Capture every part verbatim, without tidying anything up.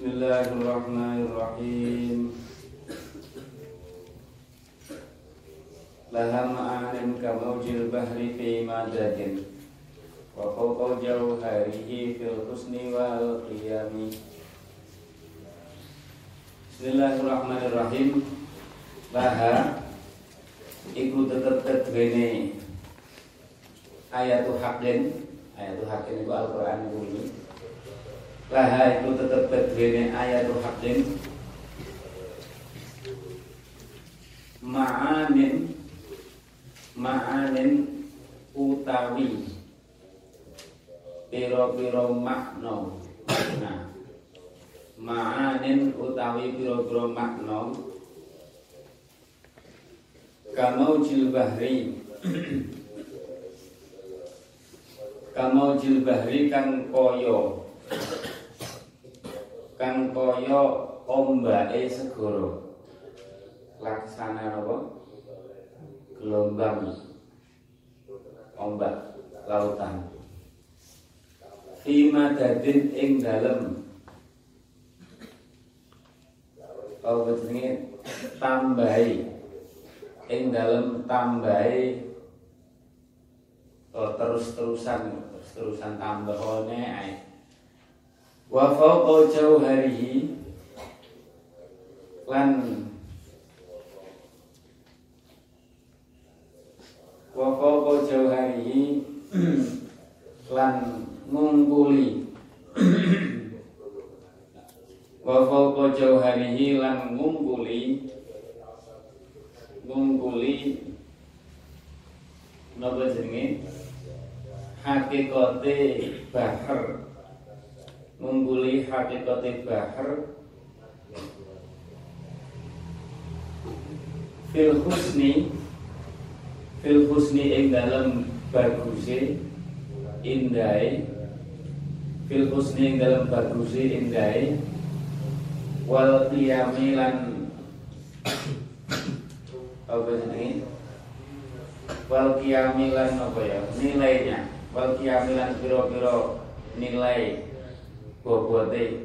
Bismillahirrahmanirrahim. Laha ma'anin kamaujil bahri fi madadin wa fawqa jawharihi fil husni wal qiyami. Bismillahirrahmanirrahim. Laha iku tetep kedwene ayatu haqqin. Ayatu haqqin itu Al-Qur'an ini. Laha itu tetep kedwene ayatu haqqin ma'anin ma'anin utawi piro-piro makna. Nah, ma'anin utawi piro-piro makna kamau jilbahri kamau jilbahri kang koyo kang koyo ombake segara. Laksana apa? Gelombang ombak lautan. Fi madadin ing dalem apa jenenge tambahi ing dalem tambahi oh, terus-terusan terus-terusan tambahane ae. Wa fawqa jauharihi lan wa fawqa jauharihi lan ngungkuli wa fawqa jauharihi lan ngungkuli ngungkuli napa jenenge hakikate bahar ngungkuli hakikate bahar fil husni fil husni ing dalam baguse indai fil husni ing dalam baguse indai wal qiyami lan apa jenenge wal qiyami lan apa ya nilainya wal qiyami lan pira-pira nilai bobote.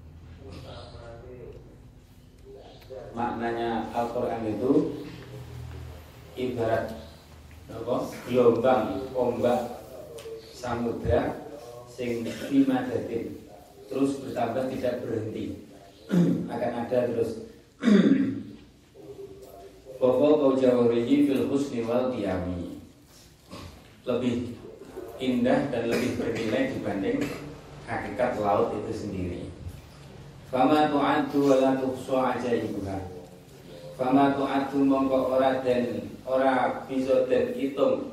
Maknanya Al-Qur'an itu ibarat apa? Gelombang ombak samudra sing lima detik terus bertambah tidak berhenti. Akan ada terus. Pokok kau jawarihi fil husni wal qiyami. Lebih indah dan lebih bernilai dibanding hakikat laut itu sendiri. Fama tu'addu wa la tuhsa ajaibuha. Fama tu'addu mongko ora den ora bisa den hitung.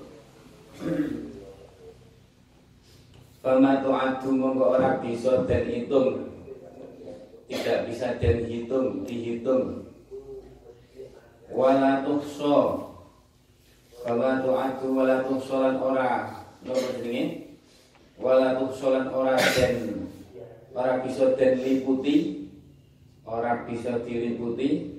Fama tu'addu mongko ora bisa den hitung. Tidak bisa den hitung, dihitung. Wa la tuhsa. Fama tu'addu wa la tuhsa lan ora napa jenenge? Wala tuhsolan ora den ora bisa den liputi, ora bisa diliputi,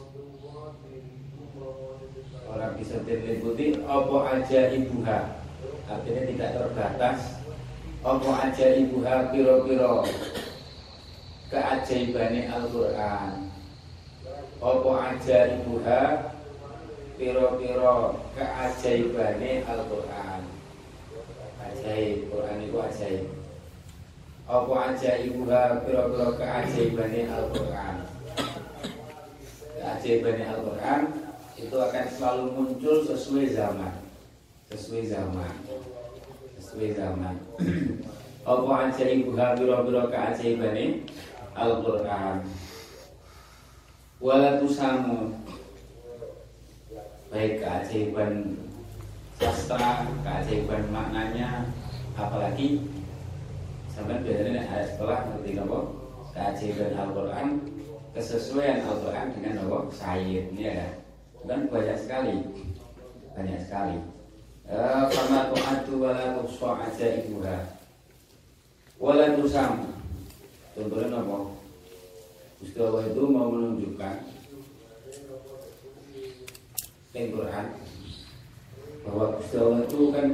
ora bisa den liputi apa aja ibuha. Artinya tidak terbatas apa aja ibuha piro-piro keajaibane Al-Qur'an. Apa aja ibuha piro-piro keajaibane Al-Qur'an. Ajaib, Quran itu ajaib. Apa ajaibuha pira-pira keajaibane Al-Qur'an. Keajaibane Al-Qur'an itu akan selalu muncul sesuai zaman. Sesuai zaman. Sesuai zaman. Apa ajaibuha pira-pira keajaibane Al-Qur'an. Wala tusamu baik keajaiban sastra, keajaiban maknanya, apalagi sampai biasanya ada setelah ngerti apa keajaiban Al-Qur'an, kesesuaian Al-Qur'an dengan apa syair ini ada kan banyak sekali banyak sekali. Fama tu'addu wa la tuhsa ajaibuha wa la tusam. Contohnya apa? Gusti Allah itu mau menunjukkan Al-Qur'an bahwa Gusti Allah itu kan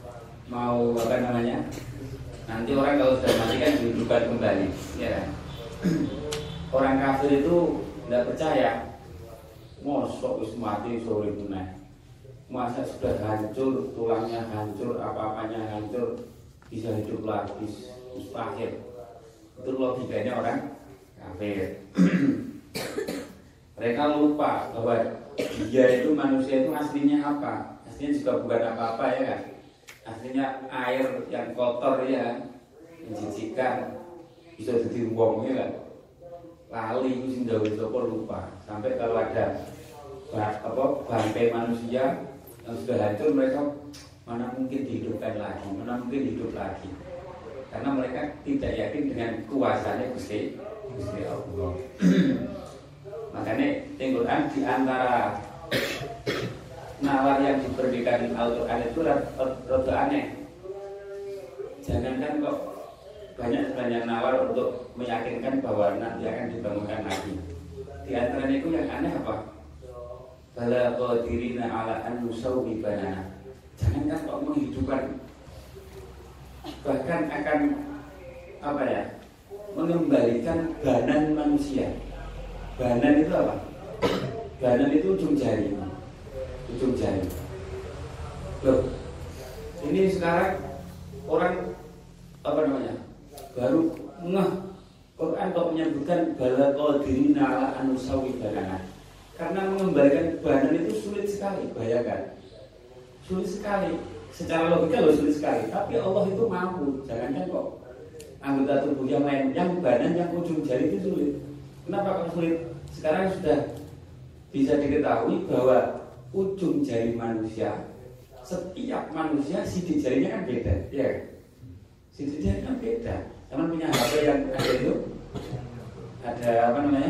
mau apa namanya, nanti orang kalau sudah mati kan dihidupkan kembali, ya kan? orang kafir itu tidak percaya. Mosok wis mati sore tunai. Masa sudah hancur, tulangnya hancur, apa-apanya hancur, bisa hidup lagi, mustahil. Itu logikanya orang kafir. Mereka lupa bahwa dia itu manusia itu aslinya apa? Aslinya juga bukan apa-apa ya kan? Aslinya air yang kotor ya, menjijikan, bisa jadi wong ya kan? Lali itu sing dawuh sapa lupa. Sampai kalau ada apa bangkai manusia yang sudah hancur, mereka mana mungkin dihidupkan lagi, mana mungkin hidup lagi, karena mereka tidak yakin dengan kuasanya Gusti Gusti Allah. Makanya Al-Quran di antara nalar yang diberikan Al-Quran itu rada aneh. Jangankan kok banyak-banyak nalar untuk meyakinkan bahwa nanti akan dibangunkan lagi. Di antaranya itu yang aneh apa? Bala qadirina ala an nusawwi banana. Jangankan kok menghidupkan, bahkan akan apa ya? Mengembalikan banan manusia. Banan itu apa? Banan itu ujung jari. Ujung jari. Loh, ini sekarang orang apa namanya? Baru ngeh Quran kok menyebutkan bala qadirina ala an nusawwi banana. Karena mengembalikan badan itu sulit sekali, bayangkan. Sulit sekali. Secara logika loh sulit sekali. Tapi Allah itu mampu. Jangankan kok anggota tubuh yang lain, yang badan, yang ujung jari itu sulit. Kenapa kok sulit? Sekarang sudah bisa diketahui bahwa ujung jari manusia, setiap manusia sidik jarinya kan beda, ya. Sidik jarinya kan beda. Teman punya H P yang ada itu, ada apa namanya?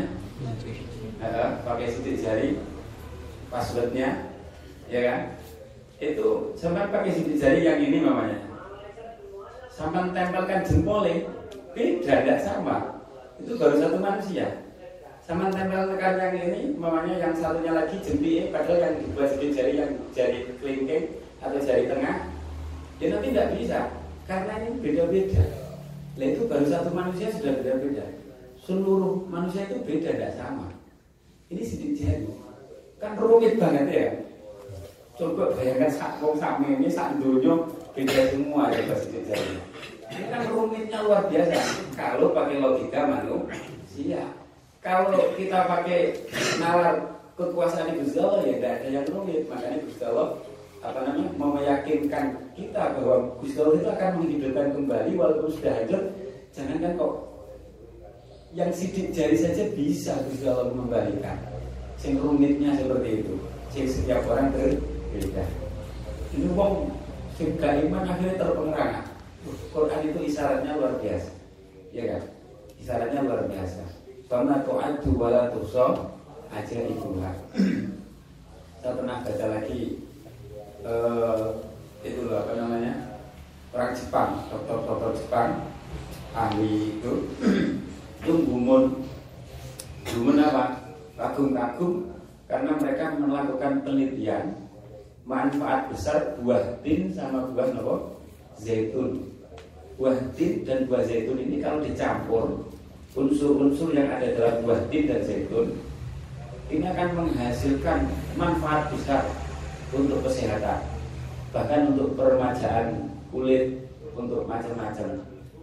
Uh, pakai sidik jari, passwordnya, ya kan? Itu sampai pakai sidik jari yang ini mamanya. Sampai tempelkan jempolnya, beda, tidak sama. Itu baru satu manusia. Sama tempelkan yang ini, mamanya yang satunya lagi jempolnya, padahal yang dibuat sidik jari yang jari kelingking atau jari tengah, ya nanti tidak bisa, karena ini beda-beda. Nah itu baru satu manusia sudah beda-beda. Seluruh manusia itu beda, tidak sama. Ini sidik jari kan rumit banget ya. Coba bayangkan sak wong sami ini sak donya beda semua ya sidik jari. Ini kan rumitnya luar biasa kalau pakai logika manusia. Kalau kita pakai nalar kekuasaan Gusti Allah ya tidak ada yang rumit. Makanya Gusti Allah apa namanya mau meyakinkan kita bahwa Gusti Allah itu akan menghidupkan kembali walaupun sudah hancur. Jangankan kok yang sidik jari saja bisa Gusti Allah mengembalikan. Sing rumitnya seperti itu. Sing setiap orang berbeda. Ini wong sing gak iman akhirnya terpengaruh. Quran itu isyaratnya luar biasa. Ya kan? Isyaratnya luar biasa. Fama tu'addu wa la tuhsa ajaibuha. Saya pernah baca lagi uh, itu apa namanya? Orang Jepang, dokter-dokter Jepang ahli itu itu gumun gumun apa? Kagum-kagum karena mereka melakukan penelitian manfaat besar buah tin sama buah apa? Zaitun. Buah tin dan buah zaitun ini kalau dicampur unsur-unsur yang ada dalam buah tin dan zaitun ini akan menghasilkan manfaat besar untuk kesehatan, bahkan untuk peremajaan kulit, untuk macam-macam.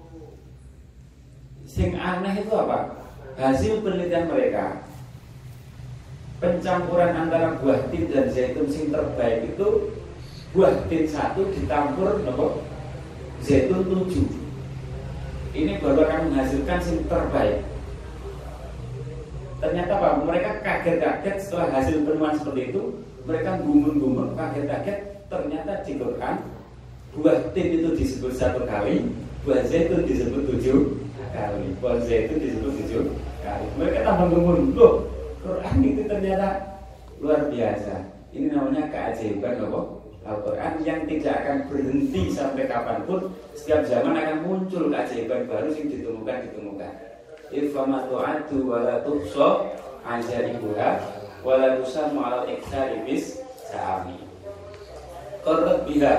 Sing aneh itu apa? Hasil penelitian mereka, pencampuran antara buah tin dan zaitun sing terbaik itu buah tin satu ditampur nopo zaitun tujuh. Ini baru akan menghasilkan sing terbaik. Ternyata apa? Mereka kaget-kaget setelah hasil penemuan seperti itu. Mereka gumun-gumun, kaget-kaget. Ternyata di Quran buah tin itu disebut satu kali, buah zaitun disebut tujuh kali, buah zaitun disebut tujuh kali. Mereka tambah gumun, loh Quran itu ternyata luar biasa. Ini namanya keajaiban loh Al-Quran yang tidak akan berhenti sampai kapanpun. Setiap zaman akan muncul keajaiban baru yang ditemukan ditemukan. Ifama tu'adu wala tuhsa ajaibuha wala tusammu ala iktsari bis sa'ami. Qarrat biha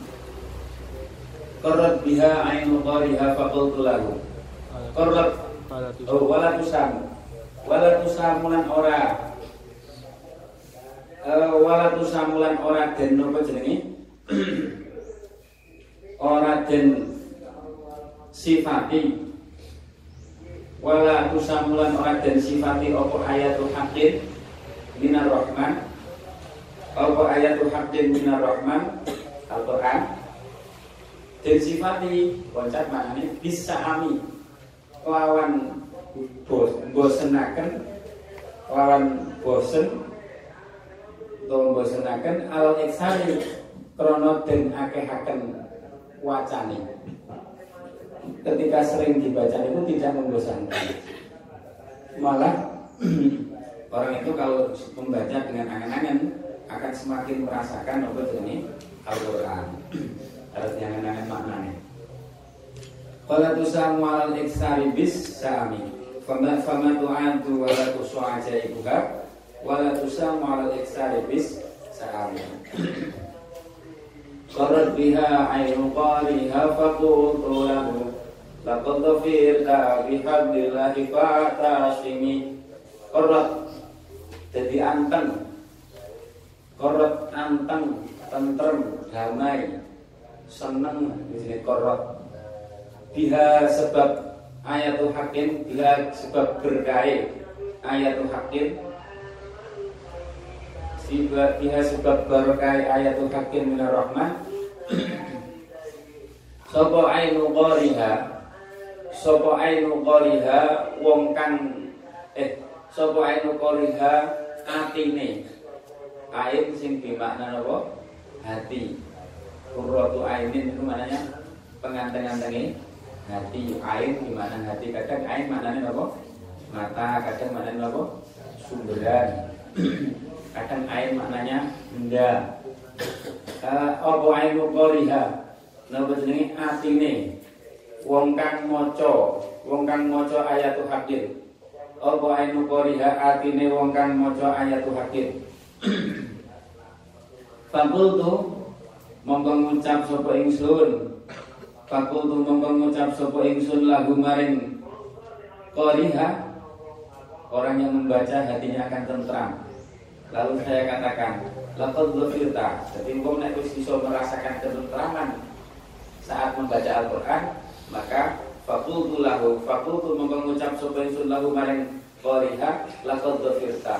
Qarrat biha ainu qariha faqultu lahu. Qarrat Oh, wala tusam. Wala tusamulan ora. Uh, wala tusamulan ora den napa jenenge? Ora den sifati. Wala tusamulan ora den sifati apa ayatul haqqin minar rahman. Apa ayatul haqqin minar rahman Al-Qur'an. Den sifati koncat maknane bisa ami lawan bos bosenaken lawan bosen utawa bosenaken al iksari krana den akehaken wacane. Ketika sering dibaca itu tidak membosankan, malah orang itu kalau membaca dengan angan-angan akan semakin merasakan apa ini Al-Quran. Harus angan-angan maknanya. Qala tusamu alal iksari bis sami fama fama tu'antu wala tusu'aja ibuka wala tusamu alal iksari bis sami qarat biha aynu qaliha faqultu lahu laqad dhafirta bihablillahi fa'tasimi. Qarat jadi anteng, qarat anteng, tentrem, damai, seneng di sini qarat. Biha sebab ayatul hakim, biha sebab berkait ayatul hakim, biha sebab berkait ayatul hakim minar rahman. Sopo ainu qoriha, sopo ainu qoriha wong kang eh sopo ainu qoriha atine. Ain sing bimakna napa? Hati. Qurratu ainin itu maknanya penganteng-antengi hati. Ain gimana hati? Kadang ain maknanya apa? Mata. Kadang maknanya apa? Sumberan. Kadang ain maknanya benda. Apa ainu qoriha? Napa jenenge atine? Wong kang maca, wong kang maca ayatul hakim. Apa ainu qoriha atine wong kang maca ayatul hakim. Fakultu mongko ngucap sapa ingsun. Fakultu mongko ngucap sapa ingsun lagu maring qoriha, orang yang membaca hatinya akan tentram. Lalu saya katakan, laqad dhafirta. Jadi engkau nek wis iso merasakan ketentraman saat membaca Al-Qur'an, maka fakultu lahu, fakultu mongko ngucap sapa ingsun lagu maring qoriha, laqad dhafirta.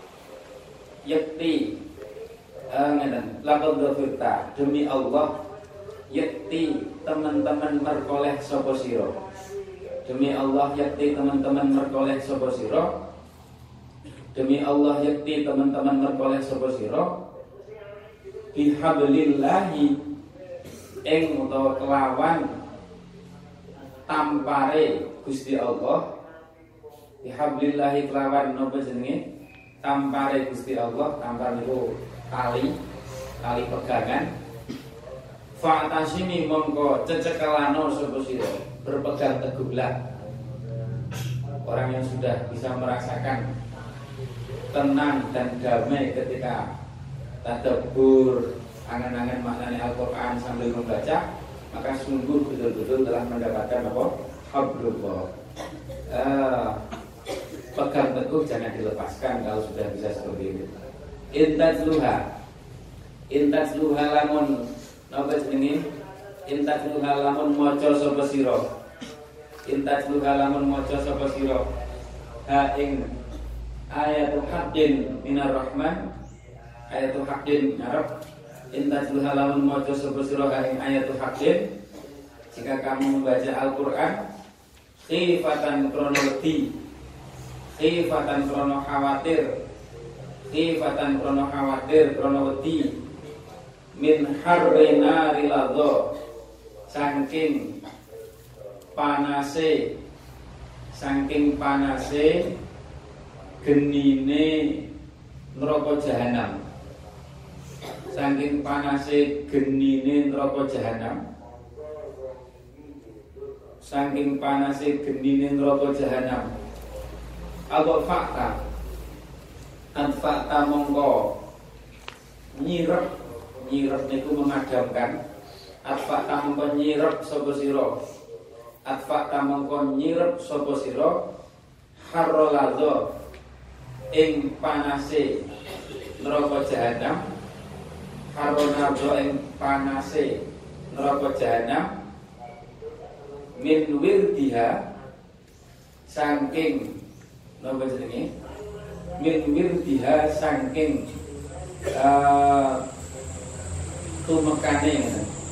Yakti ngeten, laqad dhafirta, demi Allah yakti teman-teman merkoleh sapa sira. Demi Allah yakti teman-teman merkoleh sapa sira. Demi Allah yakti teman-teman merkoleh sapa sira. Bihablillahi ing utawa kelawan tampare Gusti Allah. Bihablillahi kelawan napa jenenge? Tampare Gusti Allah. Tampar itu tali, tali pegangan. Fa'tasimi mongko cecekelano sapa sira, berpegang teguhlah. Orang yang sudah bisa merasakan tenang dan damai ketika tadabbur, angan-angan maknanya Al-Qur'an sambil membaca, maka sungguh betul-betul telah mendapatkan apa? Hablullah. Eh, pegang teguh, jangan dilepaskan kalau sudah bisa seperti itu. Intajluha, intajluha lamun napa jenenge? Intajluha lamun maca sapa sira. Intajluha lamun maca sapa sira. Ha ing ayatul haqqin minar rahman. Ayatul haqqin ngarep. Intajluha lamun maca sapa sira ha ing ayatul haqqin. Jika kamu membaca Al-Qur'an khifatan krono wedi, khifatan krono khawatir, khifatan krono khawatir krono wedi, min harrina rilado, saking panase, saking panase genine neraka jahanam, saking panase genine neraka jahanam, saking panase genine neraka jahanam. Apa fakta? Anfa'ta mongko nyirep, nyirep niku memadamkan. Anfa'ta mongko nyirep sapa sira atfa tamangkon nyirep sapa sira harrolazo ing panase neraka jahanam, harrolazo ing panase neraka jahanam, min wirdiha saking napa jenenge min wirdiha saking uh, tumekane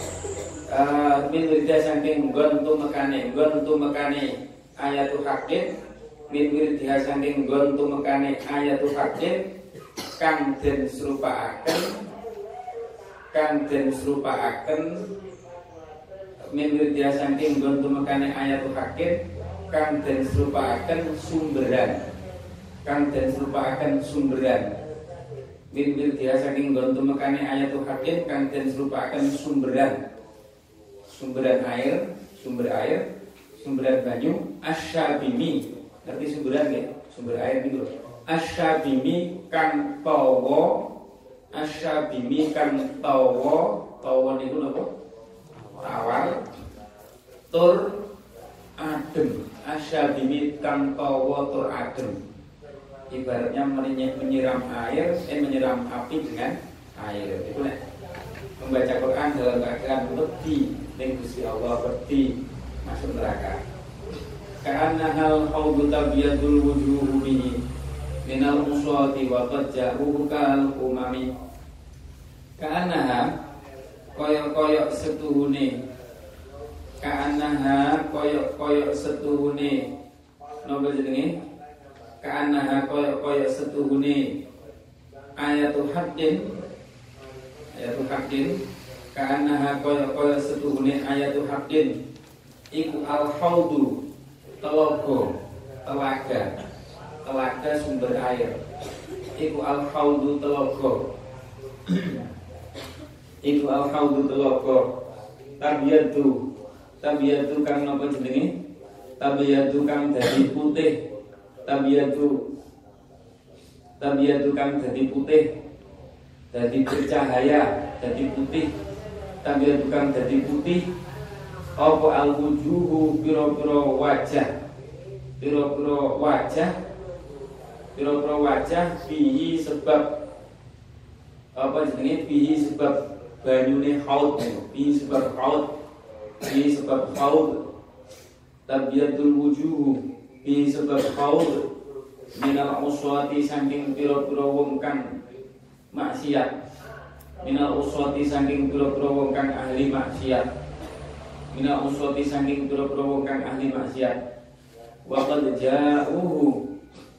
uh, min wirdiha saking nggon tumekane nggon tumekane ayatul hakim, min wirdiha saking nggon tumekane ayatul hakim kang den serupaaken kang den serupaaken min wirdiha saking nggon tumekane ayatul hakim kang den serupaaken sumberan kang den serupaaken sumberan min wirdiha saking nggon tumekane ayatul hakim kang den serupaaken sumberan sumberan air sumber air sumberan banyu asyabimi ngerti sumberan nggih sumber air niku asyabimi kang tawa asyabimi kang tawa tawa niku napa tawar tur adem asyabimi kang tawa tur adem ibaratnya menyiram air eh menyiram api dengan air itu nek membaca Quran dalam keadaan wedi ning Gusti Allah wedi masuk neraka karena hal haudhu tabiyadul wujuhu bihi minal uswati wa qad ja'uhu kal umami karena koyok-koyok setuhune karena koyok-koyok setuhune napa jenenge karena koyok-koyok setuhune ayatul haqqin ayatul haqqin karena koyok-koyok setuhune ayatul haqqin iku al haudhu telaga telaga telaga sumber air iku al haudhu telaga iku al haudhu telaga tabiyatu tabiyatu kang napa jenenge tabiyatu kang dadi putih tabiyatu tabiyatu kang dadi putih dadi bercahaya dadi putih tabiyatu kang dadi putih apa al wujuhu pira-pira wajah pira-pira wajah pira-pira wajah bihi sebab apa jenenge bihi sebab banyune haud bihi sebab haud bihi sebab haud tabiyatul wujuhu bihi sebab haud minal uswati saking pira-pira wong kang maksiat minal uswati saking pira-pira wong kang ahli maksiat minal uswati saking pira-pira wong kang ahli maksiat wa qad ja'uhu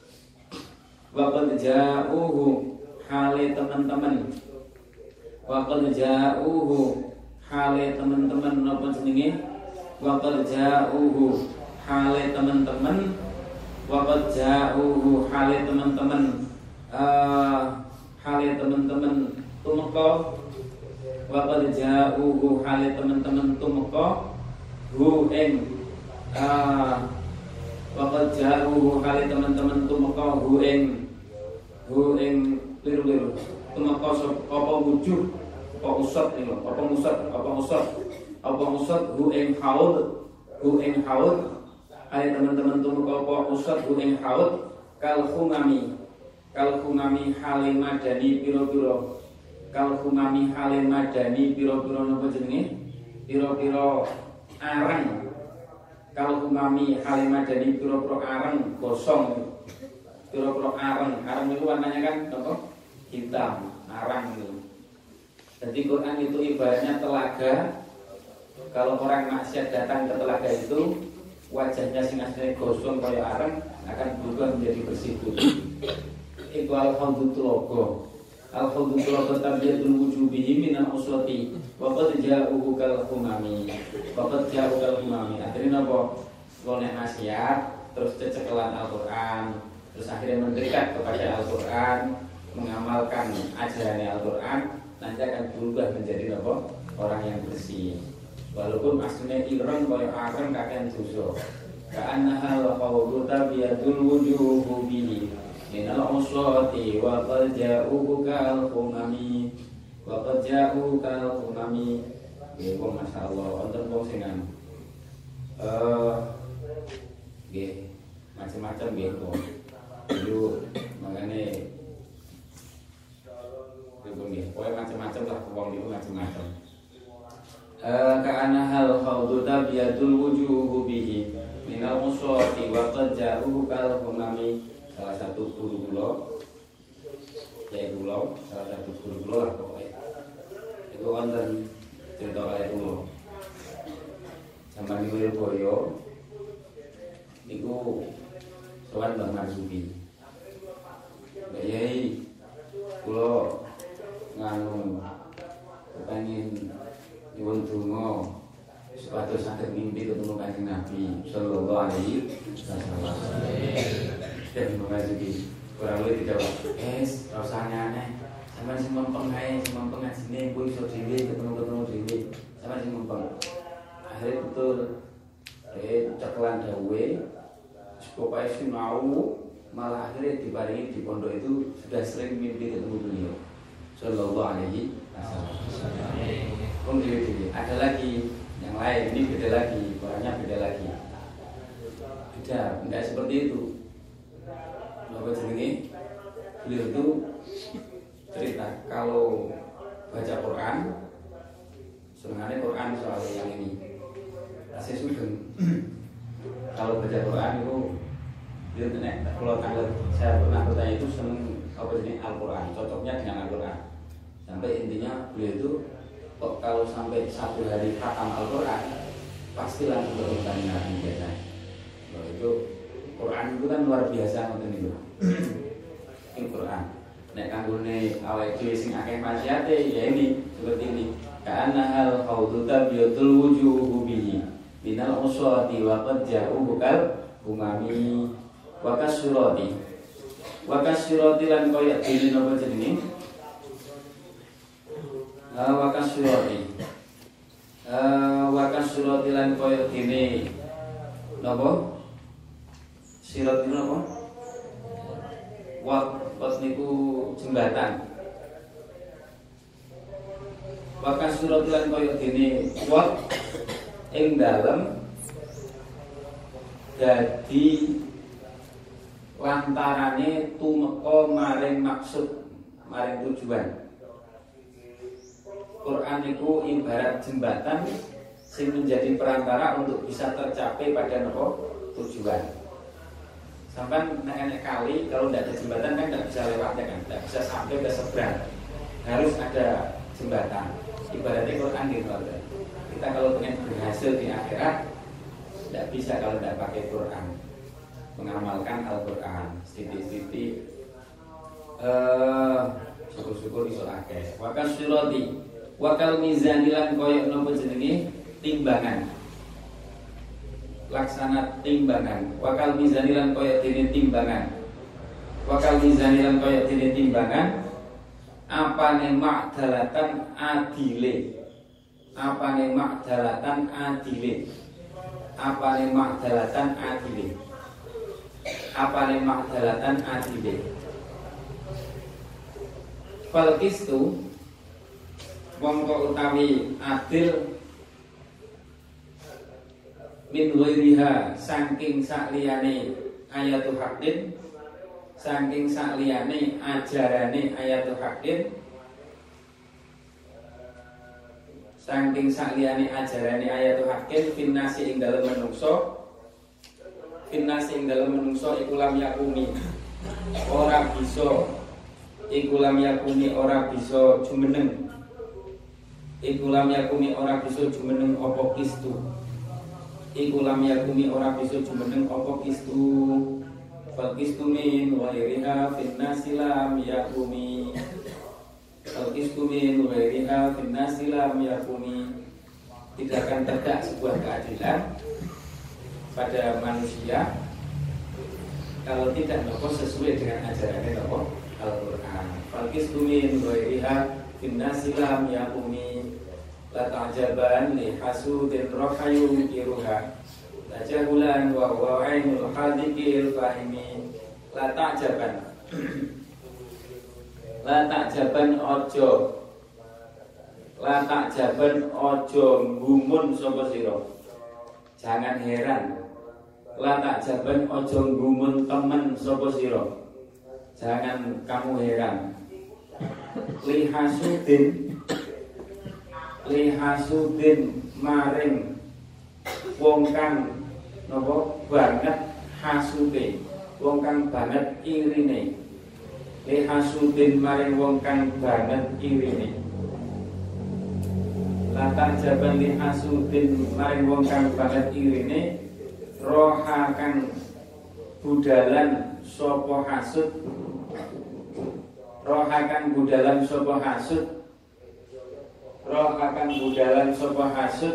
wa qad ja'uhu hale teman-teman wa qad ja'uhu hale teman-teman napa jenenge wa qad ja'uhu hale teman-teman wa qad ja'uhu hale teman-teman uh, hale teman-teman tumeka wa qad ja'uhu hale teman-teman tumeka hu ing uh, wa qad ja'uhu hale teman-teman tumeka hu ing hu ing liru-liru tumeka apa wujuh apa usat niku apa musat apa musat apa musat hu ing haud hu ing haud hale teman-teman tumeka apa usat hu ing haud kal khumami kal khumami hale madani pira-pira kal khumami hale madani pira-pira napa jenenge pira-pira arang kal khumami hale madani pira-pira arang gosong pira-pira arang arang itu warnanya kan apa hitam arang itu. Jadi Quran itu ibaratnya telaga. Kalau orang maksiat datang ke telaga itu wajahnya sing asline gosong kaya arang akan berubah menjadi bersih putih. Itu al-haudhu telaga. Al-haudhu telaga tabiyatul wujubihi minal uswati wa qad ja'uhu kal khumami. Wa qad ja'uhu kal khumami. Artinya napa? Wong nek maksiat terus cecekelan Al-Qur'an, terus akhirnya mendekat kepada Al-Qur'an, mengamalkan ajaran Al-Qur'an, nanti akan berubah menjadi apa? Orang yang bersih. Walaupun aslinya ireng kaya areng kakean dosa. Ka'annaha al-qawlu tabiyadul wujuhu bihi minal uswati wa qad ja'uhu kal khumami wa qad ja'uhu kal khumami. Ya, masyaallah, wonten wong sing eh macam-macam gitu. Dulu makanya itu nih, pokoknya macam-macam lah uang itu macam-macam. Karena hal khawdu tabiatul wujuhu bihi minal musawati wa qad ja'uhu kal humami. Salah satu guru kula ya kula salah satu guru kula lah pokoknya itu wonten cerita kaya kula zaman Wirboyo niku sowan Mbah Marzuki Mbak Yai kula nganu kepengin nyuwun donga supados saged mimpi ketemu Kanjeng Nabi sallallahu alaihi wasallam. Dan Mbah Marzuki kurang lebih dijawab, "Es, rasane aneh. Sampeyan sing mempeng ae, sing mempeng ngajine kuwi iso dhewe ketemu-ketemu dhewe. Sampeyan sing mempeng." Akhirnya betul eh ceklan dawuhe supaya sinau malah akhirnya diparingi di pondok itu sudah sering mimpi ketemu beliau sallallahu alaihi wasallam. Kemudian ada lagi yang lain, ini beda lagi, orangnya beda lagi. Beda, enggak seperti itu. Apa jenenge? Beliau itu cerita kalau baca Quran, sebenarnya Quran soal yang ini. Saya sugeng. Kalau baca Quran itu dia nek kalau tanggal saya pernah bertanya itu seneng apa jenis Al-Quran, cocoknya dengan Al-Quran. Sampai intinya beliau itu kok kalau sampai satu hari khatam Al-Quran pasti langsung bertemu Nabi biasa. Loh, itu Quran itu kan luar biasa ngoten niku. Ini Quran. Nek kanggone awake dhewe sing akeh maksiate ya ini seperti ini. Ka'anna hal khawdu tabiatul wujuhu bihi minal uswati wa qad ja'u kal umami wa kasurati wa kasurati lan koyo dene napa jenenge wa kasurati wa kasurati lan koyo dene napa sirat itu napa wa pas niku jembatan wa kasurati lan koyo dene wa ing dalem dadi lantarane tumeka maring maksud maring tujuan. Quran itu ibarat jembatan sing menjadi perantara untuk bisa tercapai pada nopo tujuan. Sampai nek kali kalau tidak ada jembatan kan tidak bisa lewatnya kan, tidak bisa sampai ke seberang. Harus ada jembatan. Ibaratnya Quran gitu. Kita kalau pengen berhasil di akhirat tidak bisa kalau tidak pakai Quran, mengamalkan Al-Quran siti-siti uh, syukur-syukur iso akeh. Wakal sirati wakal mizanilan koyok nopo jenenge timbangan, laksana timbangan. Wakal mizanilan koyok dene timbangan, wakal mizanilan koyok dene timbangan. Apane makdalatan adile, apane makdalatan adile, apane makdalatan adile, apane makdalatan adile. Falkis tu mongko utawi adil min ghairiha saking sakliyane ayatul haqqin, saking sakliyane ajarane ayatul haqqin, saking sakliyane ajarane ayatul haqqin finnasi ing dalem menungso, finnasi ing dalem menungso iku lam yakumi ora bisa, iku lam yakumi ora bisa jumeneng, iku lam yakumi ora bisa jumeneng apa kistu, iku lam yakumi ora bisa jumeneng apa kistu. Falkistu min ghairiha finnasi lam yakumi, falkistu min ghairiha finnasi lam yakumi. Tidak akan tegak sebuah keadilan pada manusia kalau tidak nopo sesuai dengan ajarannya nopo Al-Quran. Falkistu min ghairiha finnasi lam yakumi. La ta'jaban li hasudin rohayum iruha tajahulan wa huwa ainul hadikil fahimi. La ta'jaban La ta'jaban ojo, la ta'jaban ojo gumun sapa sira. Jangan heran, La takjaban ojo gumun temen sapa sira. Jangan kamu heran. Lihasudin Lihasudin maring wong kang napa banget hasude, wong kang banget irine. Lihasudin maring wong kang banget irine. Lata jaban lihasudin maring wong kang banget irine. Roha kang budalan sapa hasud. Roha kang budalan sapa hasud. Roha kang budalan sapa hasud.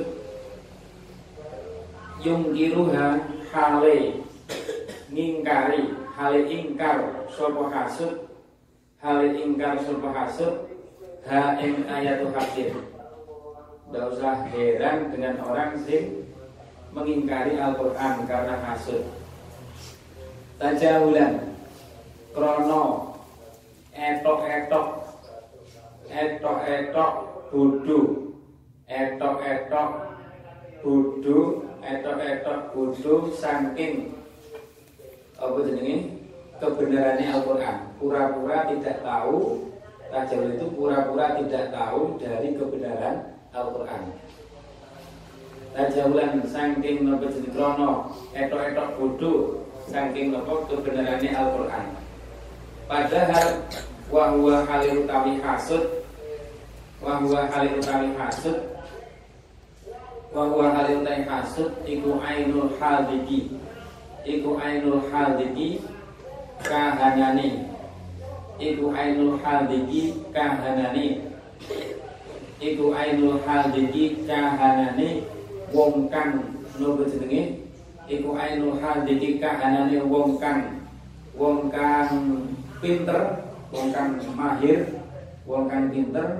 Yungkiruha hale ngingkari, hale ingkar sapa hasud. Hale ingkar sapa hasud. Ha ing ayatul hakim. Tidak usah heran dengan orang sing mengingkari Al-Quran karena hasud. Tajahulan krono etok-etok etok-etok bodoh, etok-etok bodoh, etok-etok bodoh saking apa jenenge kebenarannya Al-Quran. Pura-pura tidak tahu. Tajawul itu pura-pura tidak tahu dari kebenaran Al-Quran. Tajawulan saking napa jeneng krono etok-etok bodoh saking napa kebenarannya Al-Quran. Padahal wa huwa halil utawi hasud, wa huwa halil utawi hasud, wa huwa halil utawi hasud iku ainul hadiki, iku ainul hadiki kahanane, iku ainul hadiki kahanane, iku ainul hadiki kahanane wong kang nopo jenenge, iku ainul hadiki kahanane wong kang wong kang pinter, wong kang mahir, wong kang pinter,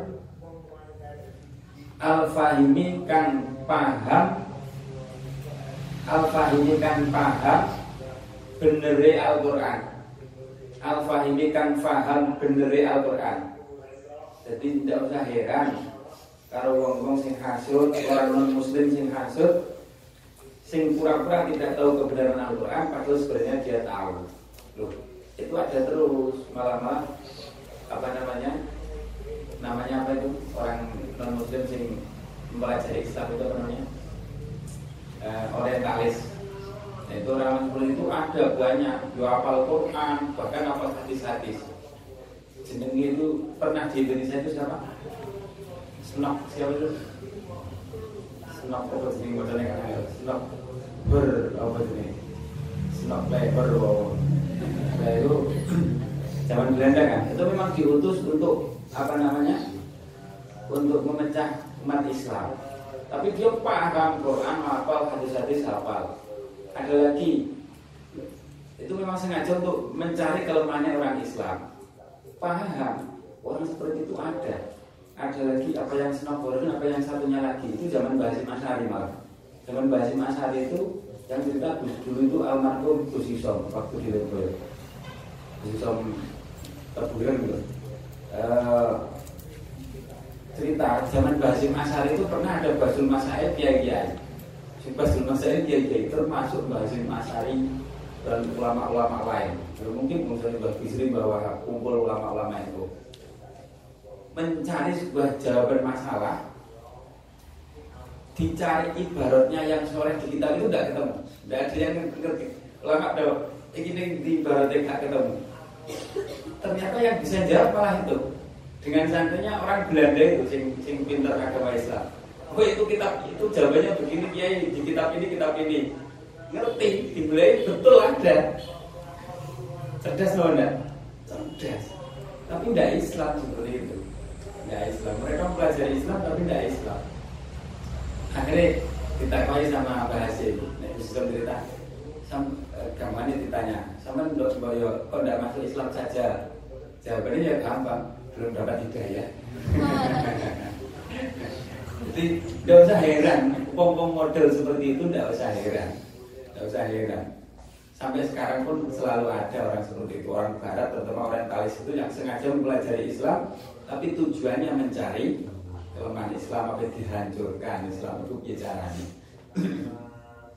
al-fahimi kang paham, al-fahimi kang paham benere Al-Quran, al-fahimi kang paham benere Al-Quran. Jadi tidak usah heran kalau wong-wong sing hasud, orang non muslim sing hasud, sing pura-pura tidak tahu kebenaran Al-Quran, padahal sebenarnya dia tahu. Loh, itu ada terus, malah-malah apa namanya namanya apa itu orang non muslim sing mempelajari Islam itu apa namanya uh, orientalis. Nah, itu orang muslim itu ada banyak, dia hafal Quran, bahkan hafal hadis-hadis. Jenenge itu pernah di Indonesia itu siapa? Senok, siapa itu? Senok apa jenenge modalnya kan? Senok ber apa jenenge? Senok lebar wow. Nah itu zaman Belanda kan, itu memang diutus untuk apa namanya, untuk memecah umat Islam. Tapi dia paham Quran, hafal hadis-hadis, hafal. Ada lagi, itu memang sengaja untuk mencari kelemahannya orang Islam. Paham, orang seperti itu ada. Ada lagi apa yang Senok, apa yang satunya lagi itu zaman Basim Asy'ari malah. Zaman Basim Asy'ari itu yang cerita dulu itu almarhum Gus Isom waktu di Lembur. Isom terbulan gitu. Uh, cerita zaman Basim Asy'ari itu pernah ada Basul Masaib kiai-kiai. Si Basul Masaib kiai-kiai termasuk Basim Asy'ari dan ulama-ulama lain. Mungkin misalnya Mbah Bisri bahwa kumpul ulama-ulama itu mencari sebuah jawaban masalah, dicari ibaratnya yang sore di kitab itu tidak ketemu, tidak ada yang ngerti. Ulama ada ini di ibaratnya tidak ketemu. Ternyata yang bisa jawab malah itu dengan santainya orang Belanda itu sing sing pintar agama Islam. Oh itu kitab itu jawabannya begini kiai, di kitab ini kitab ini ngerti, dibeli betul ada. Cerdas loh enggak? Cerdas. Tapi tidak Islam seperti itu. Tidak Islam. Mereka mempelajari Islam tapi tidak Islam. Akhirnya ditakoi sama Mbah Hasim. Nek bisa cerita. Sam gamane ditanya, "Sampeyan ndok semboyo kok ndak masuk Islam saja?" Jawabannya ya gampang, belum dapat hidayah. Jadi tidak usah heran, pom-pom model seperti itu tidak usah heran. Tidak usah heran. Sampai sekarang pun selalu ada orang seperti itu, orang Barat, terutama orientalis itu yang sengaja mempelajari Islam, tapi tujuannya mencari kelemahan Islam, apa dihancurkan Islam itu bicaranya.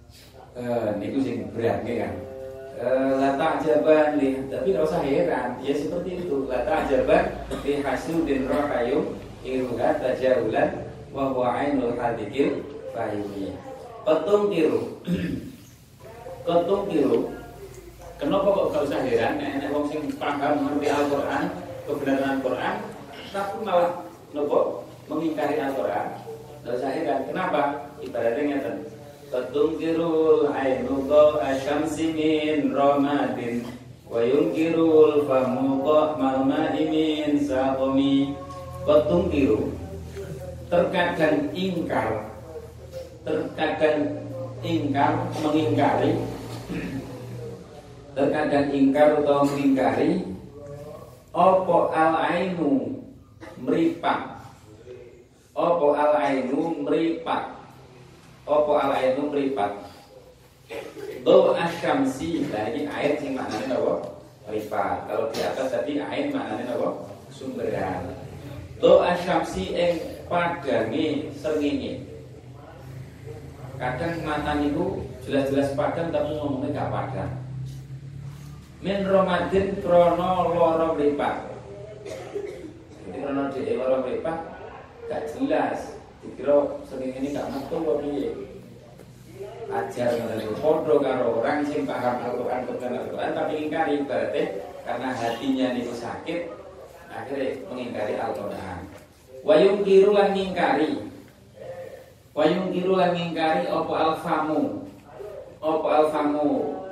Eh, niku sing berat kan. Eh, lata ajaban li, tapi enggak usah heran, ya seperti itu. Lata ajaban li hasudin rohayum iruha tajawulan wa huwa ainul hadikil fahimi. Ketung tiru. Ketung tiru. Kenapa kok enggak usah heran nek wong sing paham mengerti Al-Qur'an, kebenaran Al-Qur'an, tapi malah nopo mengingkari Al-Qur'an. Enggak usah heran. Kenapa? Ibaratnya ngeten. Tadungkirul ainu asyamsi min ramadin wa yunkirul famu malma'i min saqami. Tadungkiru terkadang ingkar, terkadang ingkar mengingkari, terkadang ingkar atau mengingkari opo al ainu meripat, opo al ainu meripat. Opo al ainu meripat. Do asyamsi, nah ini ayat yang maknanya apa? Meripat. Kalau di atas tadi ayat maknanya apa? Sumberan. Do asyamsi ing padange srengenge. Kadang mata niku jelas-jelas padang tapi ngomongnya gak padang. Min Ramadan krono loro meripat. Jadi krono dhewe loro meripat gak jelas. Dikira sering ini gak metu kok piye. Ajar ngono padha karo orang sing paham Al-Qur'an kebenaran Al-Qur'an tapi ingkari berarti karena hatinya niku sakit akhirnya mengingkari Al-Qur'an. Wayung kiru lan ngingkari. Wayung kiru lan ngingkari apa alfamu. Apa alfamu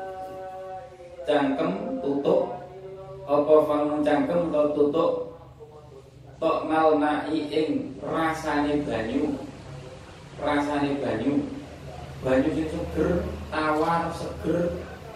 cangkem tutup. Apa famu cangkem atau tutup tok malmai ing rasane banyu, rasane banyu, banyu sing seger, tawar, seger,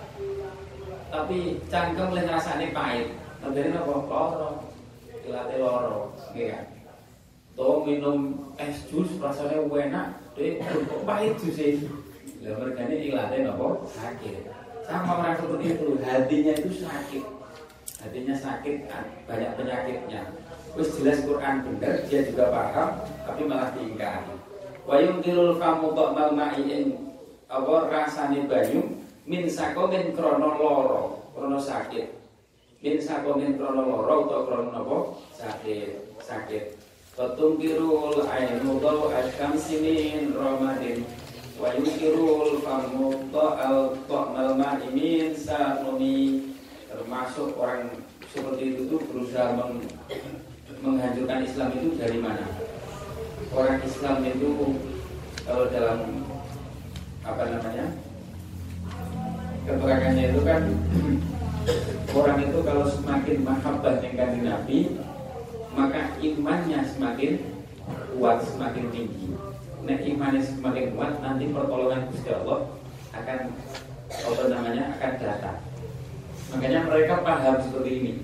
tapi cangkem lan rasane pahit. Ngendene apa? Loro, ilate loro, nggih kan? To minum es jus rasane enak, dhewe kok pahit juse. Lah mergane ilate napa? Sakit. Sama orang seperti itu, hatinya itu sakit, hatinya sakit, banyak penyakitnya. Wis jelas Quran bener, dia juga paham, tapi malah diingkari. Wayung tirul famu tok malmai ing apa rasane banyu min sakomen krono loro, krono sakit. Min sakomen krono loro utawa krono napa? Sakit, sakit. Tatung tirul ainu tok asyamsi min ramadin. Wayung tirul famu tok al tok malmai min sakumi. Termasuk orang seperti itu tuh berusaha meng menghancurkan Islam itu dari mana? Orang Islam itu kalau dalam apa namanya keterangannya itu kan orang itu kalau semakin mahabbah dengan Nabi maka imannya semakin kuat, semakin tinggi. Nah imannya semakin kuat nanti pertolongan Gusti Allah akan apa namanya akan datang. Makanya mereka paham seperti ini.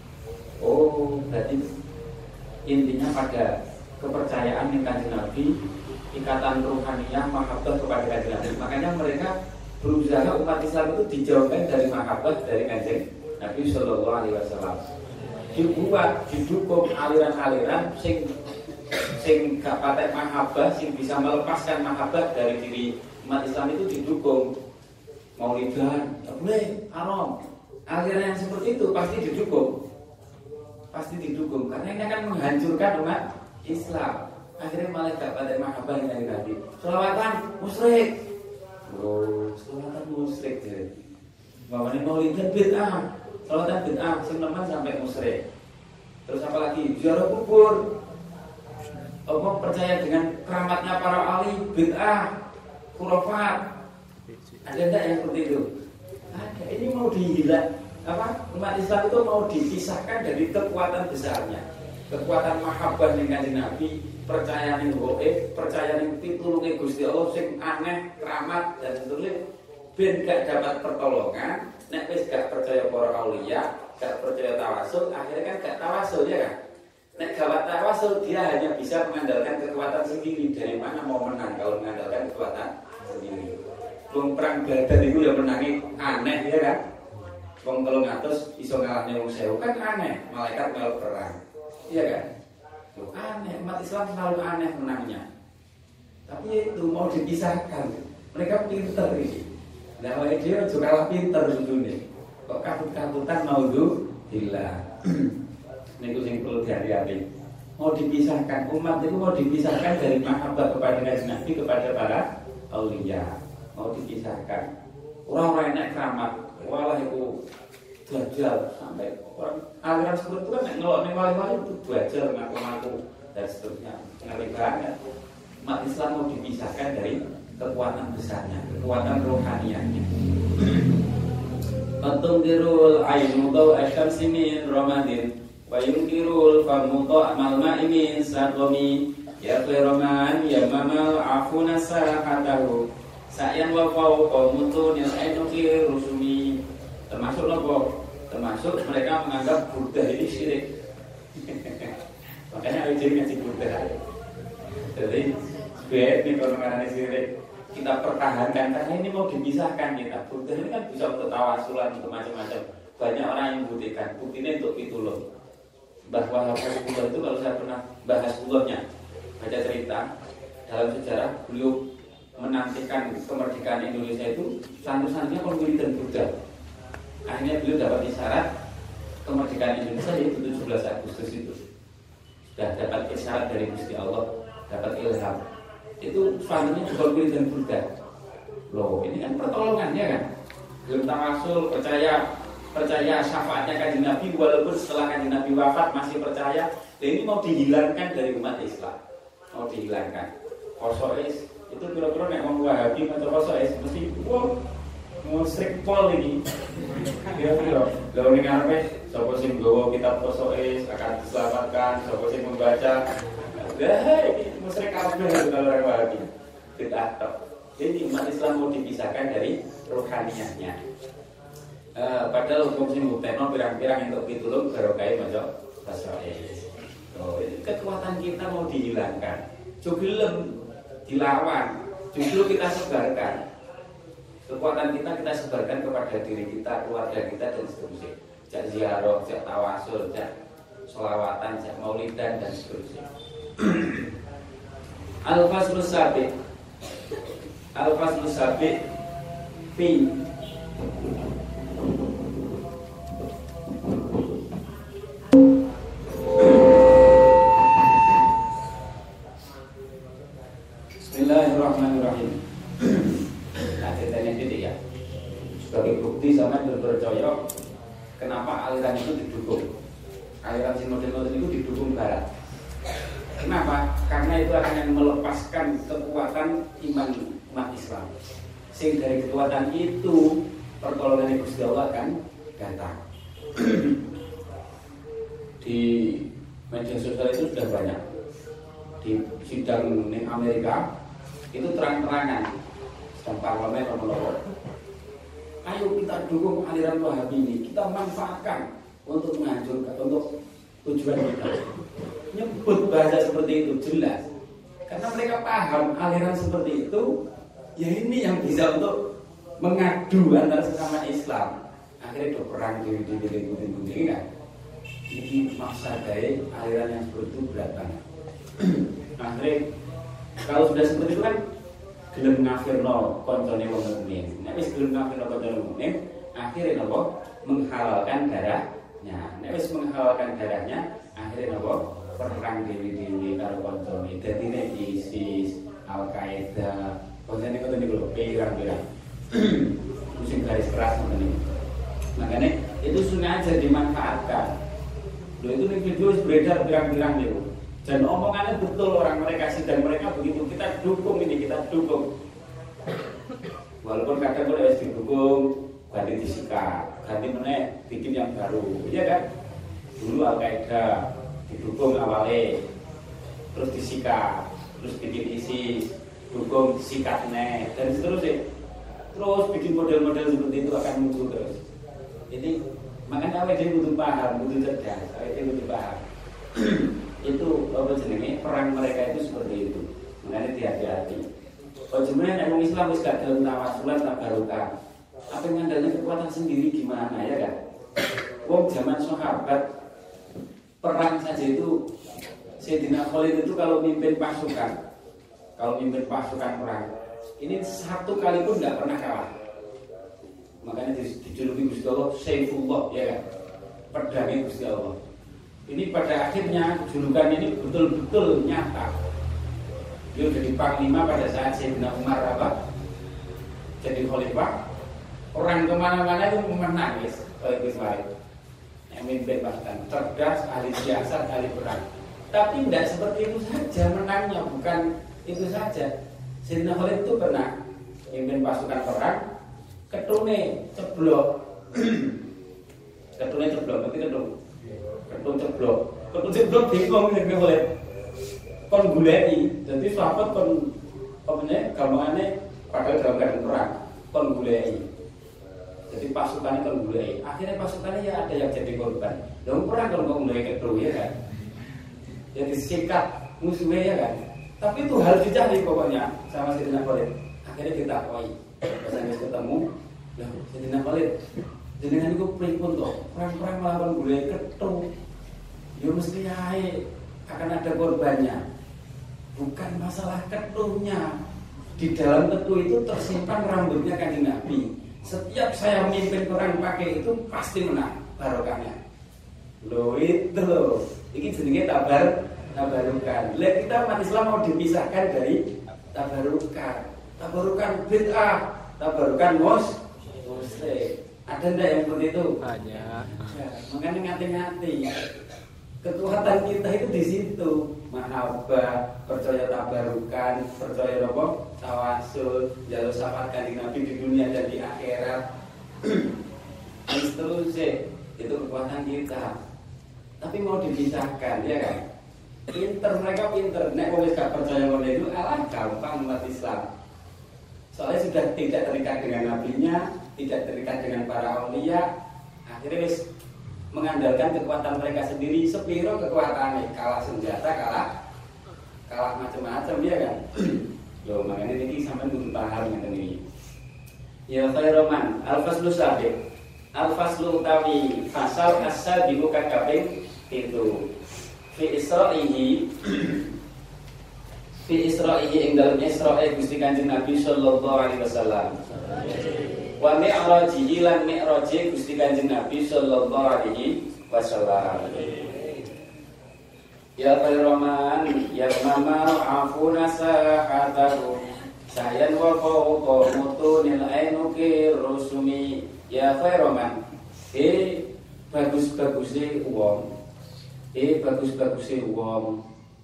Oh berarti intinya pada kepercayaan dengan Kanjeng Nabi, ikatan ruhaniyah, mahabbah kepada Kanjeng Nabi. Makanya mereka berusaha umat Islam itu dijauhkan dari mahabbah dari Kanjeng Nabi Sallallahu Alaihi Wasallam. Dibuat, didukung aliran-aliran sing sing gak patek mahabbah, sing bisa melepaskan mahabbah dari diri umat Islam itu didukung. Maulidan, boleh, haram. Aliran yang seperti itu pasti didukung. Pasti didukung karena ini akan menghancurkan umat Islam. Akhirnya malah gak pada mahabbah dari Nabi. Selawatan musyrik. Oh, selawatan musyrik jadi. Bahwa ini maulidan bid'ah. Selawatan bid'ah sing nemen sampai musyrik. Terus apa lagi? Ziarah kubur. Apa percaya dengan keramatnya para wali bid'ah, khurafat. Ada enggak yang seperti itu? Ada. Ini mau dihilang. Apa umat Islam itu mau dipisahkan dari kekuatan besarnya, kekuatan mahabbah dengan Nabi, percaya ning gaib, percaya ning pitulunge Gusti Allah sing aneh, keramat dan seterusnya, ben gak dapat pertolongan. Nek wis gak percaya para aulia, gak percaya tawasul, akhirnya kan gak tawasul ya kan? Nek gak tawasul dia hanya bisa mengandalkan kekuatan sendiri. Dari mana mau menang kalau mengandalkan kekuatan sendiri? Wong perang Badar itu ya menangi aneh ya kan? Wong telung atus iso ngalahne wong sewu kan aneh, malaikat melok perang. Iya kan? Loh, aneh, umat Islam selalu aneh menangnya. Tapi itu mau dipisahkan. Mereka pinter ini. Lah awake dhewe aja kalah pinter nih. Kok katut-katutan naudzubillah. Niku sing perlu dihati-hati. Mau dipisahkan umat itu mau dipisahkan dari mahabbah kepada Nabi kepada para auliya. Mau dipisahkan. Orang-orang enak keramat, walah itu dajjal sampai orang aliran seperti itu kan ngelok ning wali-wali itu dajjal ngaku-ngaku dan seterusnya. Ngeri banget. Umat Islam mau dipisahkan dari kekuatan besarnya, kekuatan rohaniannya. Fatumdirul ainu daw asyamsi min ramadin wa yungkirul famuto amal ma'imin sadomi ya khairoman ya mamal afuna sahatahu sa'yan wa fawqa mutunil ainuki rusumi. Termasuk nopo? Termasuk mereka menganggap Buddha ini syirik. Makanya jadi ngaji Buddha. Jadi sebaik ini kalau mengenai syirik kita pertahankan karena ini mau dipisahkan kita. Buddha ini kan bisa untuk tawasulan, untuk macam-macam. Banyak orang yang membuktikan. Buktinya untuk itu loh. Bahwa Rasulullah itu kalau saya pernah bahas ulahnya, baca cerita dalam sejarah beliau menantikan kemerdekaan Indonesia itu santri-santrinya pemilihan Buddha. Akhirnya beliau dapat isyarat kemerdekaan Indonesia yaitu tujuh belas Agustus itu. Sudah dapat isyarat dari Gusti Allah, dapat ilham. Itu santrinya juga pemilihan Buddha. Loh, ini kan pertolongan ya kan? Belum tawasul, percaya percaya syafaatnya kanjeng Nabi walaupun setelah kanjeng Nabi wafat masih percaya. Dan ini mau dihilangkan dari umat Islam. Mau dihilangkan. Kosois itu kira-kira nek wong Wahabi atau kosois mesti wow musyrik pol ini. Kira-kira lha ning arepe sapa sing nggawa kitab kosois akan diselamatkan, sapa sing membaca. Lah iki musyrik kabeh kalau orang Wahabi. Bid'ah tok. Jadi umat Islam mau dipisahkan dari rohaniahnya. Uh, padahal hukum sing buktekno pirang-pirang untuk pitulung barokah maca kosois. Oh, kekuatan kita mau dihilangkan. Jogilem dilawan, justru kita sebarkan. Kekuatan kita kita sebarkan kepada diri kita, keluarga kita dan seterusnya. Jak ziarah, jak tawasul, jak sholawatan, jak maulidan dan seterusnya. Al-Faslus Sabiq. Al-Faslus Sabiq fi Bismillahirrahmanirrahim. Nah, ceritanya gitu ya. Sebagai bukti sama berpercaya kenapa aliran itu didukung. Aliran si model-model itu didukung barat. Kenapa? Karena itu akan melepaskan kekuatan iman umat Islam. Sehingga dari kekuatan itu pertolongan Gusti Allah akan datang. Di media sosial itu sudah banyak. Di sidang di Amerika itu terang-terangan sedang parlemen nomor. Ayo kita dukung aliran Wahabi ini, kita manfaatkan untuk menghancurkan, untuk tujuan kita. Nyebut bahasa seperti itu jelas, karena mereka paham aliran seperti itu, ya ini yang bisa untuk mengadu antara sesama Islam. Akhirnya do perang di di di di kan. Ini maksa dari aliran yang seperti itu berat banget. Akhirnya kalau sudah seperti itu kan gelem ngafirno koncone wong mukmin. Nek wis gelem ngafirno koncone mukmin, akhirnya napa? Menghalalkan darahnya. Nek wis menghalalkan darahnya, akhirnya napa? Perang dewi-dewi karo koncone. Dadi nek ISIS, Al-Qaeda, koncone ngoten niku lho, pirang-pirang. Musim garis keras ngoten niku. Makanya itu sengaja dimanfaatkan. Loh itu nih video beredar pirang-pirang niku. Dan omongannya betul orang mereka sidang mereka begitu, kita dukung ini, kita dukung. Walaupun kadang boleh didukung, ganti disikat, ganti meneh bikin yang baru, iya kan? Dulu Al-Qaeda didukung awalnya, terus disikat, terus bikin ISIS, dukung disikat meneh, dan seterusnya. Terus bikin model-model seperti itu akan muncul terus. Ini makanya awake dhewe butuh paham, butuh cerdas, awake dhewe butuh paham. Itu apa jenenge perang mereka itu seperti itu. Makanya hati-hati. Kalau sebenarnya orang Islam wis gak dalam tawasulan tak barokah. Apa yang ngandalnya kekuatan sendiri gimana ya kan? Wong zaman sahabat perang saja itu Sayyidina Khalid itu kalau mimpin pasukan, kalau mimpin pasukan perang, ini satu kali pun nggak pernah kalah. Makanya dijuluki Gusti Allah Saifullah, ya kan? Pedangnya Gusti Allah. Ini pada akhirnya julukan ini betul-betul nyata. Dia jadi panglima pada saat Sayyidina Umar apa? Jadi khalifah. Orang kemana-mana itu menangis. Kalau itu baik. Yang mimpin pasukan cerdas, ahli siasat, ahli perang. Tapi tidak seperti itu saja menangnya, bukan itu saja. Sayyidina Khalid itu pernah mimpin pasukan perang, ketune ceblok. Ketune ceblok, ngerti ketun? Ketun ceblok. Ketun ceblok bingung Sayyidina Khalid. Kon gulai, jadi sahabat kon apa namanya? Gampangannya padahal dalam keadaan perang, kon gulai. Jadi pasukannya kon gulai. Akhirnya pasukannya ya ada yang jadi korban. Dalam perang kalau kon gulai ketun ya kan. Jadi sikat musuhnya ya kan. Tapi itu harus dicari pokoknya sama Sayyidina Khalid. Akhirnya kita koi, pas habis ketemu, lah Sayyidina Khalid, jenengan itu pripun toh, perang-perang melawan gulai ketu, ya mesti ae akan ada korbannya. Bukan masalah ketunya. Di dalam ketu itu tersimpan rambutnya Kanjeng Nabi. Setiap saya memimpin orang pakai itu pasti menang barokahnya. Loh itu loh, ini jenenge tabar tabarukan. Lah kita umat Islam mau dipisahkan dari tabarukan. Tabarukan bid'ah, tabarukan mus muslim. Ada ndak yang seperti itu? Banyak. Ya, makanya ngati-ngati. Kekuatan kita itu di situ. Mahabbah, percaya tabarukan, percaya apa? Tawasul, jalur syafaat Kanjeng Nabi di dunia dan di akhirat. Itu sih, itu kekuatan kita. Tapi mau dipisahkan, ya kan? Pinter, mereka pinter. Nek wong wis gak percaya ngono itu, alah gampang umat Islam. Soalnya sudah tidak terikat dengan nabinya, tidak terikat dengan para aulia. Akhirnya wis mengandalkan kekuatan mereka sendiri. Sepiro kekuatannya, kalah senjata, kalah kalah macam-macam, ya kan? Loh, makanya ini sampai kudu paham ngene iki. Ya khairoman, al-faslu sabiq. Al-faslu utawi fasal asal dibuka kaping itu. Fi Isra'ihi Fi Isra'ihi ing dalem Isra'i Gusti Kanjeng Nabi sallallahu alaihi wasallam. Wa mi'rajihi lan mi'raji Gusti Kanjeng Nabi sallallahu alaihi wasallam. Ya khairoman ya mama afuna sahatahu sayan wa fawqa mutunil ainuki rusumi. Ya khairoman, eh bagus-bagusnya uang, eh bagus-bagusnya uang,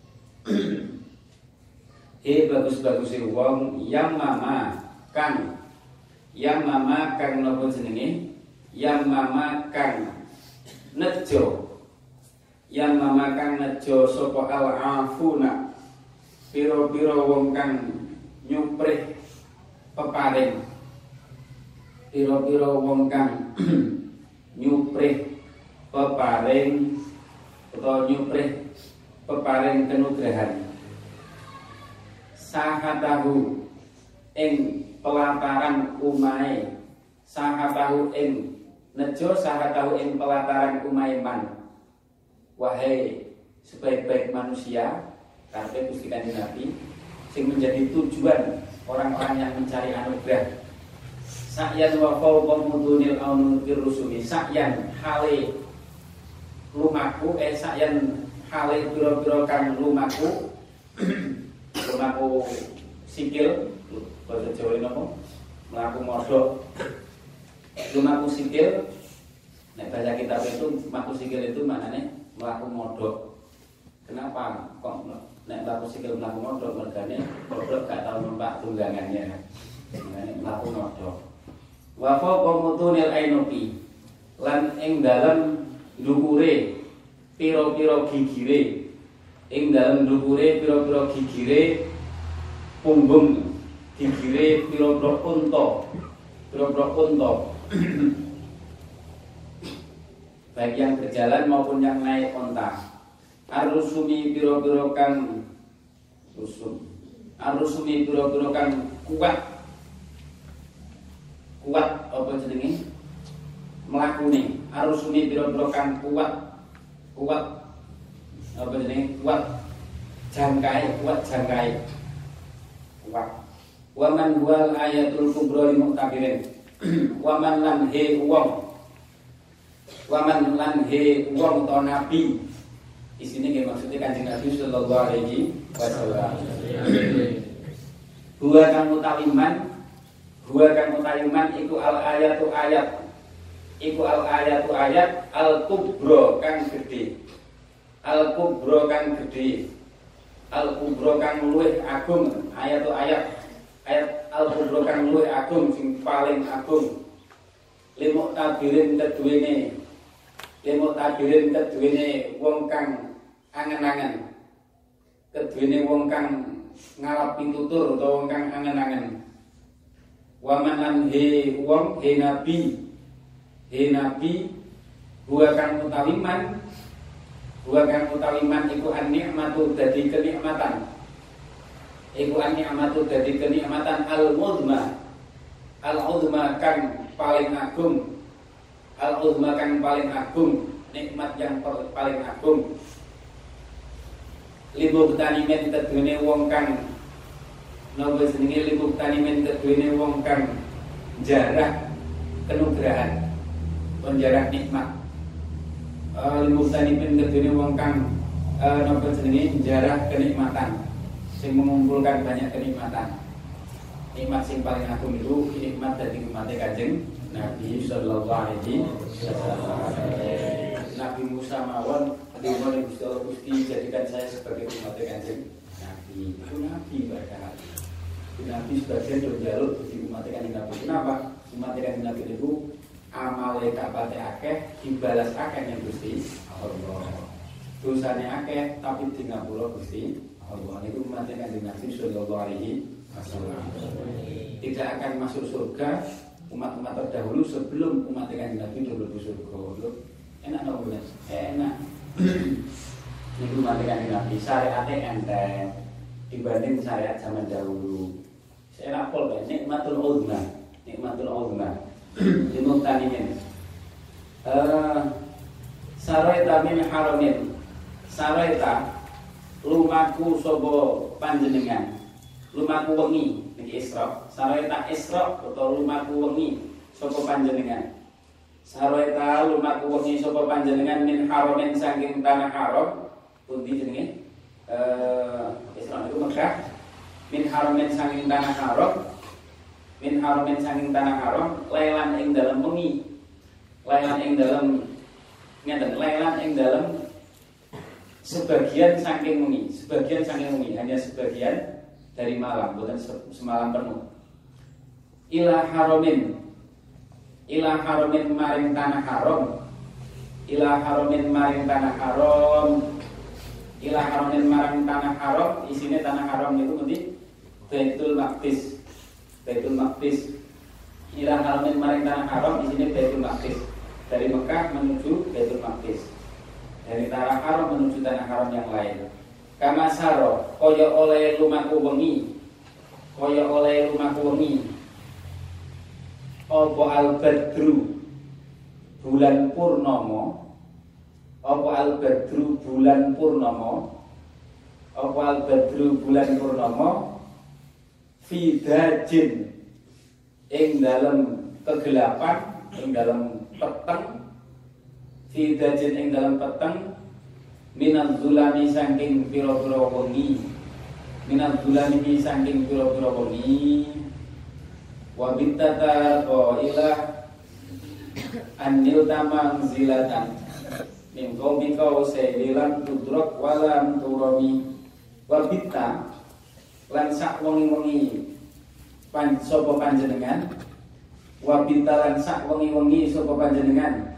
eh bagus-bagusnya uang yang mama kan, yang mama kan nopo jenenge, yang mama kan nejo, yang mama kan nejo sopo al afuna, piro-piro wong kang nyuprih peparing. Piro-piro wong kang nyuprih peparing atau nyuprih peparing kenugrahan sahatahu ing pelataran umae sahatahu ing nejo sahatahu ing pelataran umae man. Wahai sebaik-baik manusia karepe Gusti Kanjeng Nabi sing menjadi tujuan orang-orang yang mencari anugerah. Sa'yan wa fawqa mudunil aunukir rusumi. Sa'yan hale lumaku eh sa'yan hale pira-pira kang lumaku lumaku sikil bahasa Jawa napa mlaku modho lumaku sikil. Nek baca kitab itu lumaku sikil itu maknanya mlaku modho. Kenapa kok nek mlaku sikil mlaku modho? Mergane goblok gak tau numpak tunggangannya. Makane mlaku modho. Wa fawqa mutunil ainuki lan ing dalem ndukure pira-pira gigire ing dalem ndukure pira-pira gigire punggung gigire pira-pira unta pira-pira unta baik yang berjalan maupun yang naik unta. Arusumi pira-pira kang rusum arusumi pira-pira kang kuat kuat apa jenenge mlakune arusune pira-pira kang kuat kuat apa jenenge kuat jangkai kuat jangkai kuat wa man wal ayatul kubra lil muqtabirin waman lan he wong waman lan he wong to nabi. Di sini nggih maksudnya Kanjeng Nabi sallallahu alaihi wasallam. Huwa kang utawi man, huwa kang utawi man iku al ayatu ayat. Iku al ayatu ayat al kubra kang gedhe. Al kubra kang gedhe. Al kubra kang luwih agung, ayatu ayat. Ayat al kubra kang luwih agung sing paling agung. Limuk tabirin keduwene. Limuk tabirin keduwene wong kang angen-angen, keduwene wong kang ngalap pitutur utawa wong kang angen-angen. Waman lan he wong he nabi, he nabi huwa kang utawi man, huwa kang utawi man iku an-nikmatu dadi kenikmatan, iku an-nikmatu dadi kenikmatan al-uzma, al-uzma kang paling agung, al-uzma kang paling agung, nikmat yang paling agung. Libu tanimen keduwene wong kang napa jenenge libu tanimen keduwene wong kang jarah kenugrahan, penjarah nikmat. Uh, libu tanimen keduwene wong kang uh, napa jenenge jarah kenikmatan, sing mengumpulkan banyak kenikmatan. Nikmat sing paling agung itu nikmat dari umat Kanjeng Nabi sallallahu alaihi wasallam. Nabi Musa mawon dimono Gusti Allah Gusti jadikan saya sebagai umat Kanjeng Nabi. Itu Nabi padahal. Nabi sebagian yo njaluk di umat Kanjeng Nabi. Kenapa? Umat Kanjeng Nabi itu amale kapate akeh dibalas akeh ning Gusti Allah. Dosane akeh tapi di ngapura Gusti Allah. Itu umat Kanjeng Nabi sallallahu alaihi wasallam. Tidak akan masuk surga umat-umat terdahulu sebelum umat Kanjeng Nabi dulu surga. Enak dong bener, enak. Ini umat Kanjeng Nabi syariatnya enteng dibanding syariat zaman dahulu. Saya pol kan, nikmatul uzma, nikmatul uzma. Dimuk tanimin. Saraita min haramin, saraita lumaku sobo panjenengan, lumaku wengi niki Isra. Saraita Isra atau lumaku wengi sobo panjenengan. Saraita lumaku wengi sapa panjenengan min haramin saking tanah haram. Pundi jenenge? Eh Isra itu Mekah. Min haramin saking tanah haram. Min haramin saking tanah haram lailan ing dalem wengi. Lailan ing dalem ngeten, lailan ing dalem sebagian saking wengi, sebagian saking wengi, hanya sebagian dari malam, bukan semalam penuh. Ila haramin ila haramin maring tanah haram, ila haramin maring tanah haram, ila haramin maring tanah haram. Isine tanah haram itu nanti Baitul Maqdis, Baitul Maqdis. Ila haramin maring tanah haram, isine Baitul Maqdis. Dari Mekah menuju Baitul Maqdis, dari tanah haram menuju tanah haram yang lain. Kama saro kaya oleh lumaku wengi, kaya oleh lumaku wengi. Apa al-badru bulan purnama, apa al-badru bulan purnama, apa al-badru bulan purnama fi dajin ing dalam kegelapan, ing dalam peteng, fi dajin ing dalam peteng minal zulami saking pira-pira wengi, minal zulami saking pira-pira wengi. Wa bittata qailah anil tamang zilatan min qaumika usailan tudrak walam turami. Wa bitta lan sak wengi-wengi pan sapa panjenengan, wa bitta lan sak wengi-wengi sapa panjenengan,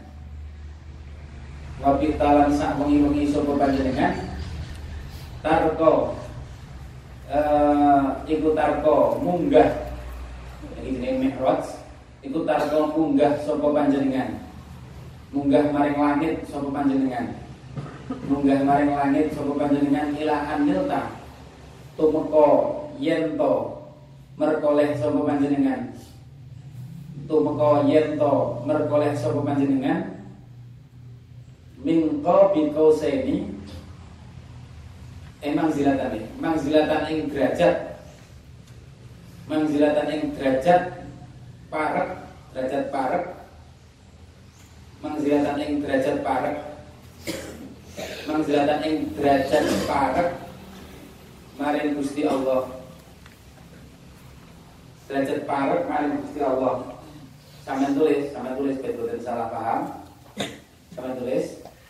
wa bitta lan sak wengi-wengi sapa panjenengan tarko eh iku tarko munggah. Iki jenenge mi'raj, iku tarko munggah sapa panjenengan. Munggah maring langit sapa panjenengan. Munggah maring langit sapa panjenengan ila anilta. Tumeka yen to merkoleh sapa panjenengan. Tumeka yen to merkoleh sapa panjenengan. Min qabi qausaini emang zilatan iki, mangzilatan ing derajat, mangzilatan ing derajat parek derajat parek manzilatan ing derajat parek manzilatan ing derajat parek maring Gusti Allah. Derajat parek maring Gusti Allah. Sampeyan tulis, sampeyan tulis betul salah paham. Sampeyan tulis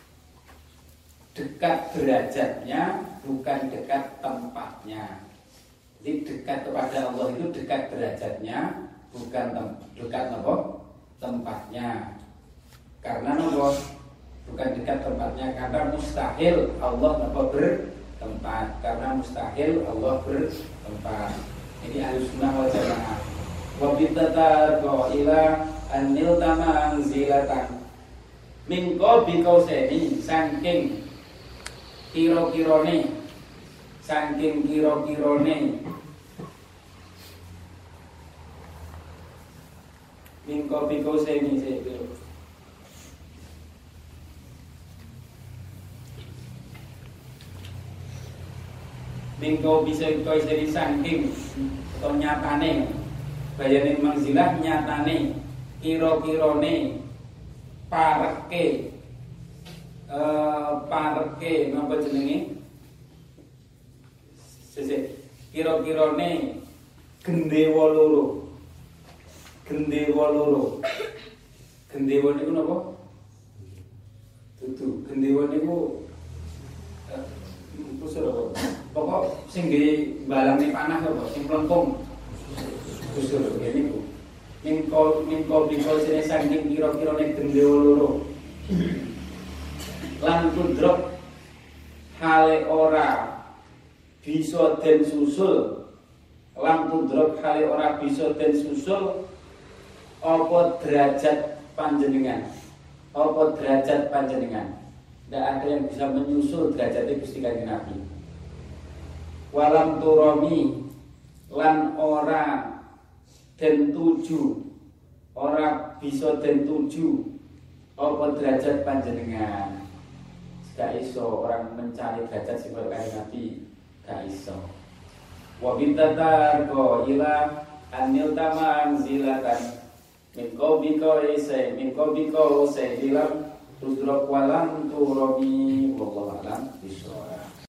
dekat derajatnya bukan dekat tempatnya. Jadi dekat kepada Allah itu dekat derajatnya, bukan tem- dekat apa? Tempatnya. Karena apa? Bukan dekat tempatnya karena mustahil Allah apa bertempat. Karena mustahil Allah bertempat. Ini Ahlussunnah wal Jamaah. Wa bittatar ila anil tamang zilatan mingko bikauseni saking kira-kirane saking kira-kirane mingko bikauseni sik mingko bisa kau jadi saking atau nyatane bayane manzilah nyatane kira-kirane pareke eh pareke napa jenenge sesuk kira-kirane gendewa loro gendewa loro gendewa niku napa dudu gendewa niku kusur apa pokok sing nggih balange panah apa sing plengkung kusur ngene niku mingko mingko bingko sene saking kira-kirane gendewa loro lan kudrok hale ora bisa den susul lan kudrok hale ora bisa den susul apa derajat panjenengan apa derajat panjenengan tidak ada yang bisa menyusul derajatnya Gusti Kanjeng Nabi. Walam turami lan ora den tuju ora bisa den tuju apa derajat panjenengan. Gak iso orang mencari derajat sing kaya Nabi, gak iso. Wa bintatar ko ila anil tamang zilatan min qaubika isa min qaubika sa dilam tudrok walam turami wallahu alam bisawab.